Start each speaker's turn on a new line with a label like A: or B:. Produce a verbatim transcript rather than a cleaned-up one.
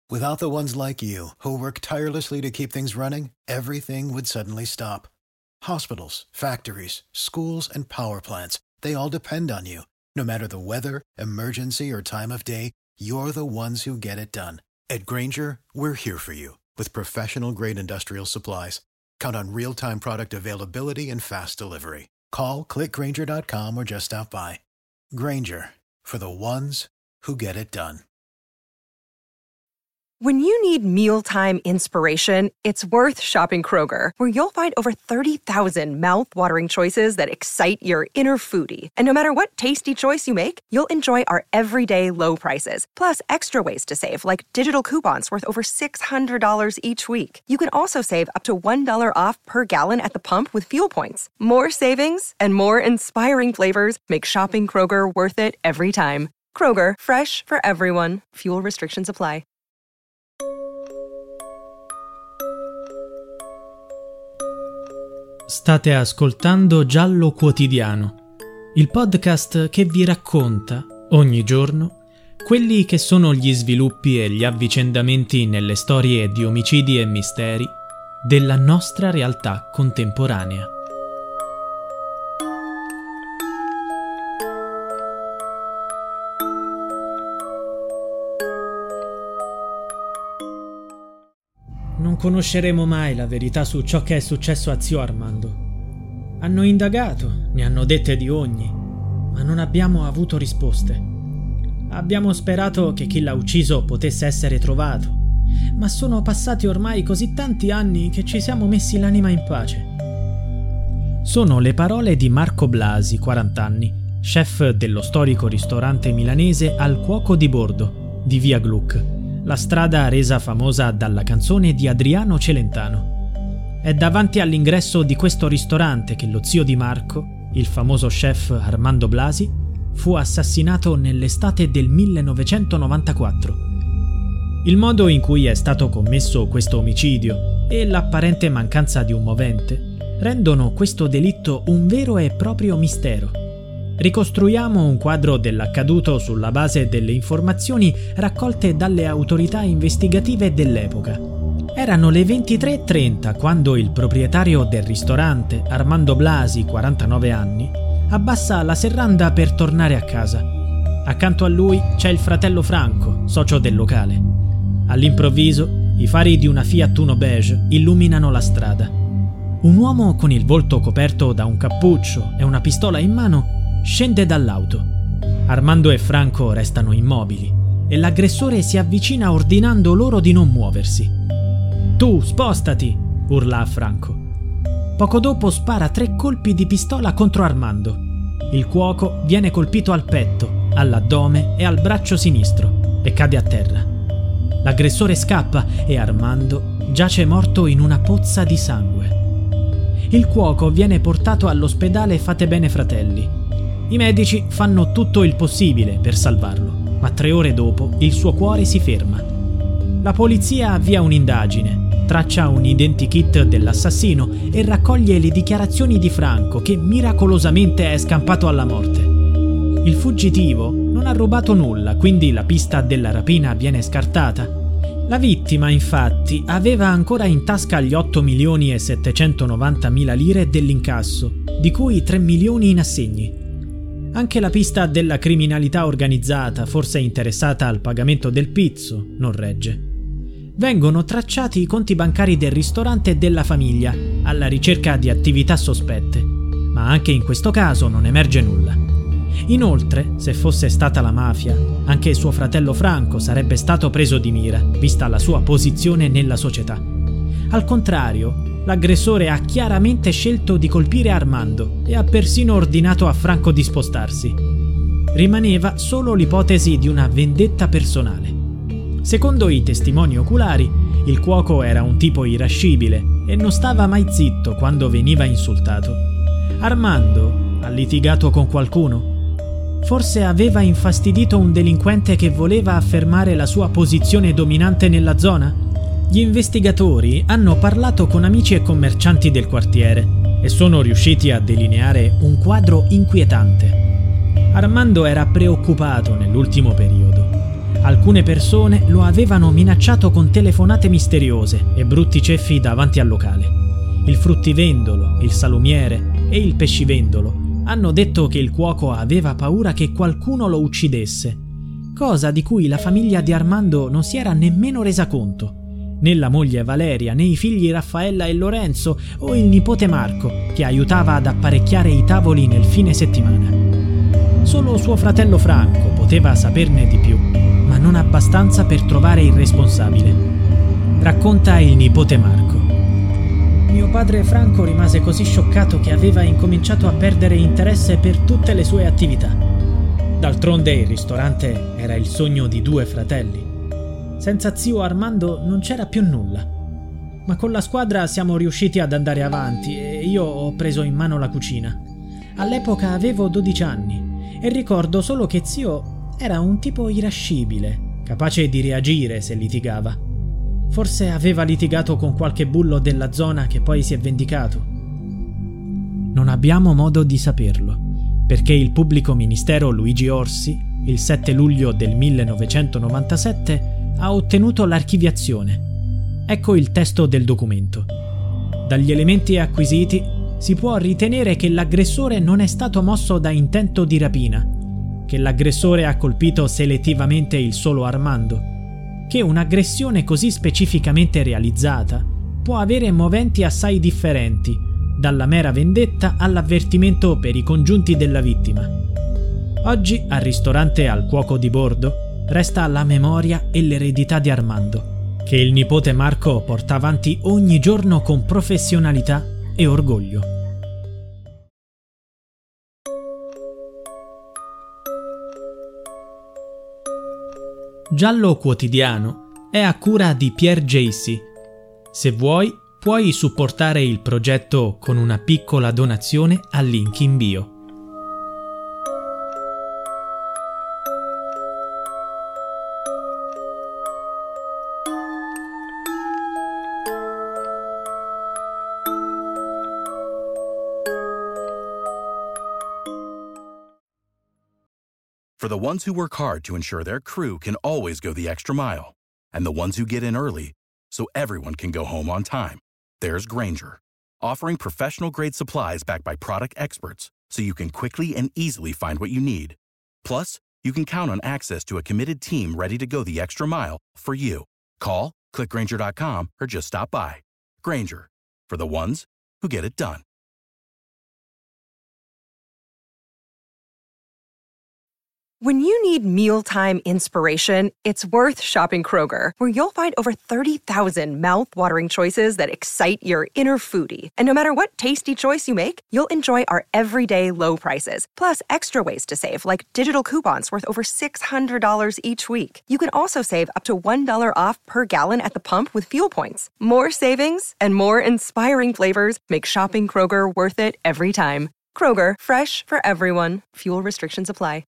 A: Without the ones like you, who work tirelessly to keep things running, everything would suddenly stop. Hospitals, factories, schools, and power plants, they all depend on you. No matter the weather, emergency, or time of day, you're the ones who get it done. At Grainger, we're here for you with professional-grade industrial supplies. Count on real-time product availability and fast delivery. Call, click grainger dot com, or just stop by. Grainger, for the ones who get it done.
B: When you need mealtime inspiration, it's worth shopping Kroger, where you'll find over thirty thousand mouth-watering choices that excite your inner foodie. And no matter what tasty choice you make, you'll enjoy our everyday low prices, plus extra ways to save, like digital coupons worth over six hundred dollars each week. You can also save up to one dollar off per gallon at the pump with fuel points. More savings and more inspiring flavors make shopping Kroger worth it every time. Kroger, fresh for everyone. Fuel restrictions apply.
C: State ascoltando Giallo Quotidiano, il podcast che vi racconta, ogni giorno, quelli che sono gli sviluppi e gli avvicendamenti nelle storie di omicidi e misteri della nostra realtà contemporanea. Non conosceremo mai la verità su ciò che è successo a zio Armando. Hanno indagato, ne hanno dette di ogni, ma non abbiamo avuto risposte. Abbiamo sperato che chi l'ha ucciso potesse essere trovato, ma sono passati ormai così tanti anni che ci siamo messi l'anima in pace. Sono le parole di Marco Blasi, quaranta anni, chef dello storico ristorante milanese Al Cuoco di Bordo, di via Gluck, la strada resa famosa dalla canzone di Adriano Celentano. È davanti all'ingresso di questo ristorante che lo zio di Marco, il famoso chef Armando Blasi, fu assassinato nell'estate del millenovecentonovantaquattro. Il modo in cui è stato commesso questo omicidio e l'apparente mancanza di un movente rendono questo delitto un vero e proprio mistero. Ricostruiamo un quadro dell'accaduto sulla base delle informazioni raccolte dalle autorità investigative dell'epoca. Erano le ventitré e trenta quando il proprietario del ristorante, Armando Blasi, quarantanove anni, abbassa la serranda per tornare a casa. Accanto a lui c'è il fratello Franco, socio del locale. All'improvviso, i fari di una Fiat Uno beige illuminano la strada. Un uomo con il volto coperto da un cappuccio e una pistola in mano scende dall'auto. Armando e Franco restano immobili e l'aggressore si avvicina ordinando loro di non muoversi. «Tu, spostati!» urla a Franco. Poco dopo spara tre colpi di pistola contro Armando. Il cuoco viene colpito al petto, all'addome e al braccio sinistro e cade a terra. L'aggressore scappa e Armando giace morto in una pozza di sangue. Il cuoco viene portato all'ospedale Fatebenefratelli. Fratelli. I medici fanno tutto il possibile per salvarlo, ma tre ore dopo il suo cuore si ferma. La polizia avvia un'indagine, traccia un identikit dell'assassino e raccoglie le dichiarazioni di Franco, che miracolosamente è scampato alla morte. Il fuggitivo non ha rubato nulla, quindi la pista della rapina viene scartata. La vittima, infatti, aveva ancora in tasca gli otto milioni e settecentonovantamila lire dell'incasso, di cui tre milioni in assegni. Anche la pista della criminalità organizzata, forse interessata al pagamento del pizzo, non regge. Vengono tracciati i conti bancari del ristorante e della famiglia, alla ricerca di attività sospette, ma anche in questo caso non emerge nulla. Inoltre, se fosse stata la mafia, anche suo fratello Franco sarebbe stato preso di mira, vista la sua posizione nella società. Al contrario, l'aggressore ha chiaramente scelto di colpire Armando e ha persino ordinato a Franco di spostarsi. Rimaneva solo l'ipotesi di una vendetta personale. Secondo i testimoni oculari, il cuoco era un tipo irascibile e non stava mai zitto quando veniva insultato. Armando ha litigato con qualcuno? Forse aveva infastidito un delinquente che voleva affermare la sua posizione dominante nella zona? Gli investigatori hanno parlato con amici e commercianti del quartiere e sono riusciti a delineare un quadro inquietante. Armando era preoccupato nell'ultimo periodo. Alcune persone lo avevano minacciato con telefonate misteriose e brutti ceffi davanti al locale. Il fruttivendolo, il salumiere e il pescivendolo hanno detto che il cuoco aveva paura che qualcuno lo uccidesse, cosa di cui la famiglia di Armando non si era nemmeno resa conto. Né la moglie Valeria, né i figli Raffaella e Lorenzo o il nipote Marco, che aiutava ad apparecchiare i tavoli nel fine settimana. Solo suo fratello Franco poteva saperne di più, ma non abbastanza per trovare il responsabile. Racconta il nipote Marco. Mio padre Franco rimase così scioccato che aveva incominciato a perdere interesse per tutte le sue attività. D'altronde il ristorante era il sogno di due fratelli. Senza zio Armando non c'era più nulla. Ma con la squadra siamo riusciti ad andare avanti e io ho preso in mano la cucina. All'epoca avevo dodici anni e ricordo solo che zio era un tipo irascibile, capace di reagire se litigava. Forse aveva litigato con qualche bullo della zona che poi si è vendicato. Non abbiamo modo di saperlo, perché il pubblico ministero Luigi Orsi, il sette luglio del millenovecentonovantasette, ha ottenuto l'archiviazione. Ecco il testo del documento. Dagli elementi acquisiti si può ritenere che l'aggressore non è stato mosso da intento di rapina, che l'aggressore ha colpito selettivamente il solo Armando, che un'aggressione così specificamente realizzata può avere moventi assai differenti, dalla mera vendetta all'avvertimento per i congiunti della vittima. Oggi al ristorante Al Cuoco di Bordo resta la memoria e l'eredità di Armando, che il nipote Marco porta avanti ogni giorno con professionalità e orgoglio. Giallo Quotidiano è a cura di Pierre Jacy. Se vuoi, puoi supportare il progetto con una piccola donazione al link in bio.
D: For the ones who work hard to ensure their crew can always go the extra mile, and the ones who get in early so everyone can go home on time, there's Grainger, offering professional-grade supplies backed by product experts so you can quickly and easily find what you need. Plus, you can count on access to a committed team ready to go the extra mile for you. Call, click Grainger dot com, or just stop by. Grainger, for the ones who get it done.
B: When you need mealtime inspiration, it's worth shopping Kroger, where you'll find over thirty thousand mouth-watering choices that excite your inner foodie. And no matter what tasty choice you make, you'll enjoy our everyday low prices, plus extra ways to save, like digital coupons worth over six hundred dollars each week. You can also save up to one dollar off per gallon at the pump with fuel points. More savings and more inspiring flavors make shopping Kroger worth it every time. Kroger, fresh for everyone. Fuel restrictions apply.